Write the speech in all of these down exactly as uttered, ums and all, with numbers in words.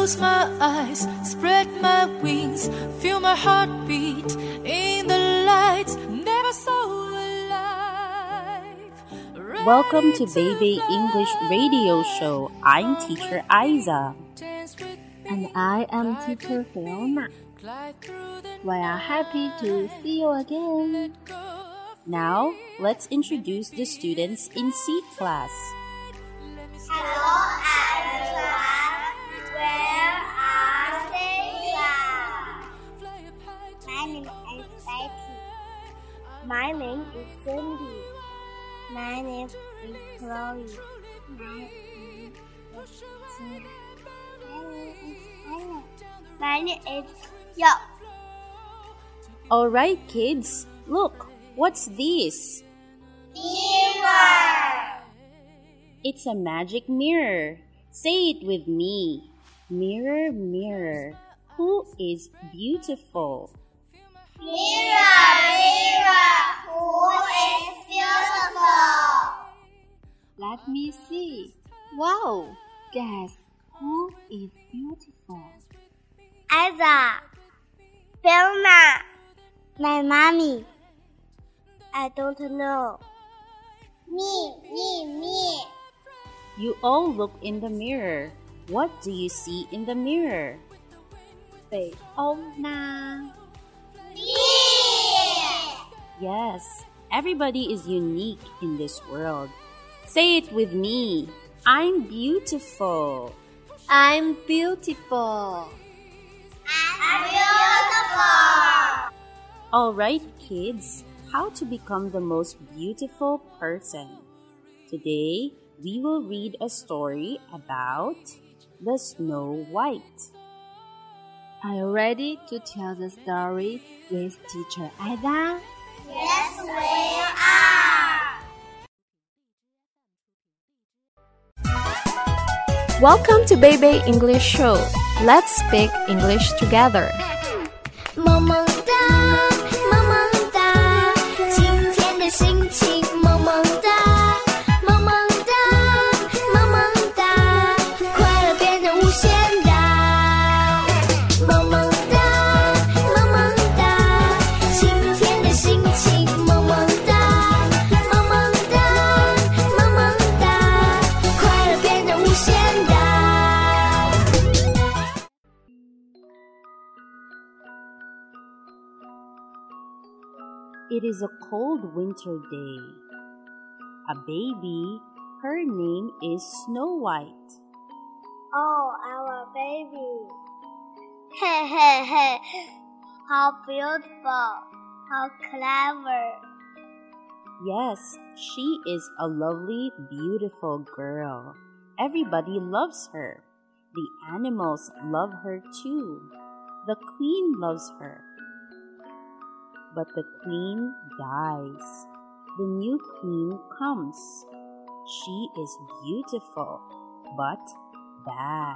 close my eyes, spread my wings, feel my heartbeat in the lights. Never so alive. Welcome to Baby English Radio Show. I'm Teacher Isa. And I am Teacher Fiona. We are happy to see you again. Now, let's introduce the students in C class. Hello everyone, where are you? My name is Betty. My name is Cindy. My name is Chloe. My name is Tina. My name is Yo. Alright kids, look, what's this? Mirror. It's a magic mirror. Say it with me. Mirror, mirror, who is beautiful? Mirror, mirror, who is beautiful? Let me see. Wow, guess who is beautiful? Isa. Fiona. My mommy. I don't know. Me, me, me. You all look in the mirror. What do you see in the mirror? Fiona. Me. Yes, everybody is unique in this world. Say it with me. I'm beautiful. I'm beautiful. I'm beautiful. Alright kids, how to become the most beautiful person. Today, we will read a story about the Snow White. Are you ready to tell the story with Teacher Isa? Yes, we are. Welcome to Baby English Show. Let's speak English together. 萌萌哒，萌萌哒，今天的心情萌萌哒，萌萌哒，萌萌哒，快乐变得无限大。萌萌哒，萌萌哒，今天的心情萌萌哒，萌萌哒，萌萌哒，快乐变得无限大。 It is a cold winter day. A baby, her name is Snow White. Oh, our baby. Hey, hey, hey. How beautiful. How clever. Yes, she is a lovely, beautiful girl. Everybody loves her. The animals love her too. The queen loves her. But the queen dies. The new queen comes. She is beautiful, but bad.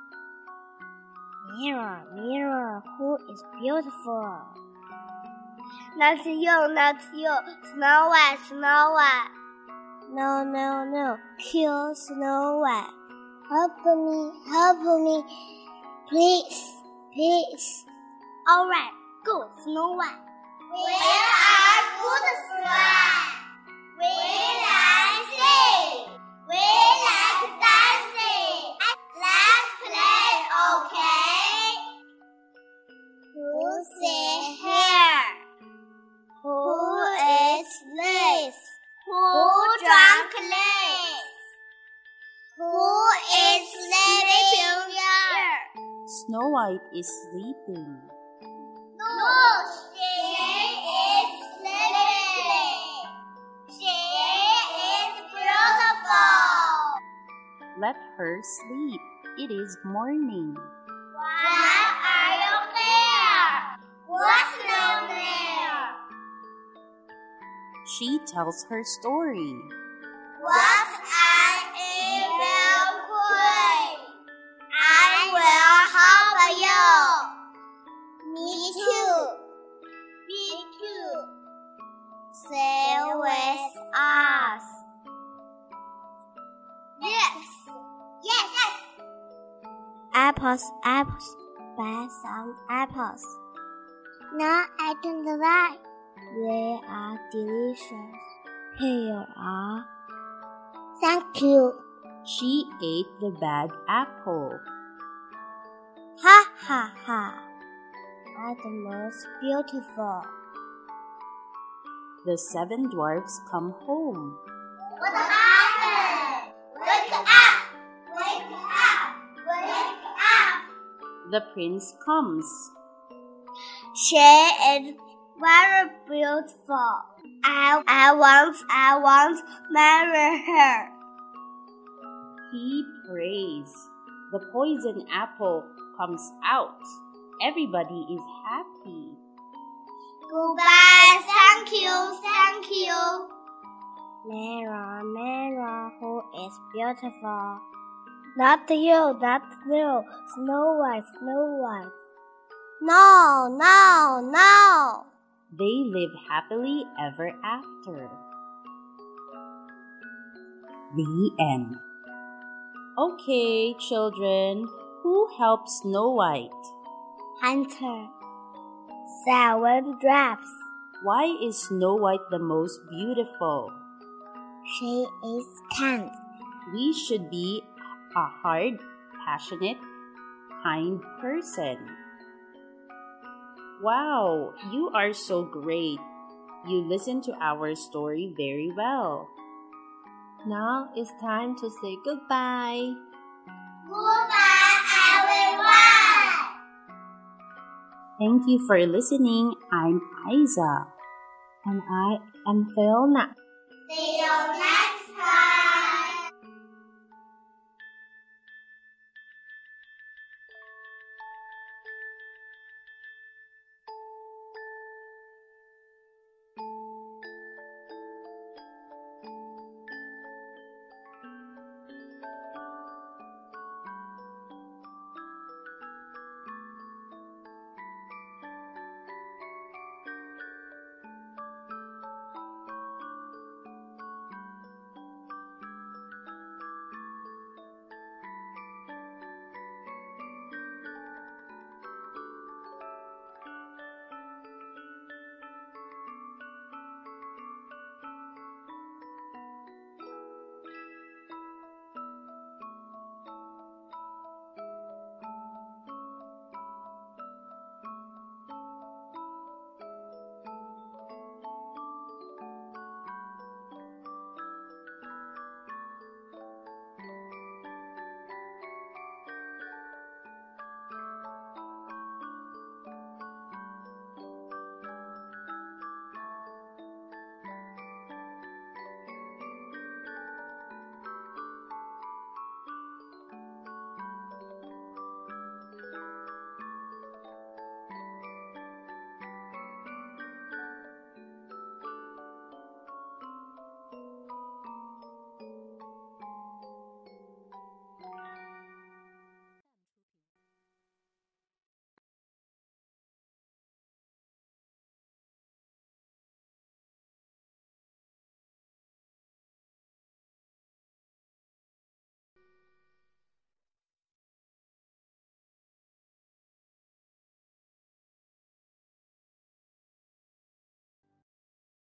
Mirror, mirror, who is beautiful? Not you, not you. Snow White, Snow White. No, no, no. Kill Snow White. Help me, help me. Please, please. All right, go, Snow White. We are good friends. We like sing. We like dancing. Let's play, okay? Who's here? Who is this? Who drank this? Who is sleeping here? Snow White is sleeping. No, she is sleeping. She is beautiful. Let her sleep. It is morning. Why are you here? What's no there? She tells her story. What's an evil queen? I will help you. Me too. Me too. Stay with us. Yes. Yes. Yes. apples, apples, buy some apples. Now I turn the right. They are delicious. Here are. Thank you. She ate the bad apple. Ha ha ha. I'm the most beautiful. The seven dwarfs come home. What happened? Wake up! Wake up! Wake up! The prince comes. She is very beautiful. I, I want, I want to marry her. He prays. The poison apple comes out. Everybody is happy. Goodbye, thank you, thank you. Mirror, mirror, who is beautiful? Not you, not you, Snow White, Snow White. No, no, no. They live happily ever after. The end. Okay, children, who helped Snow White? Hunter. Seven dwarfs. Why is Snow White the most beautiful? She is kind. We should be a hard, passionate, kind person. Wow, you are so great. You listen to our story very well. Now it's time to say goodbye. Goodbye, everyone! Thank you for listening. I'm Isa. And I am Fiona. See you next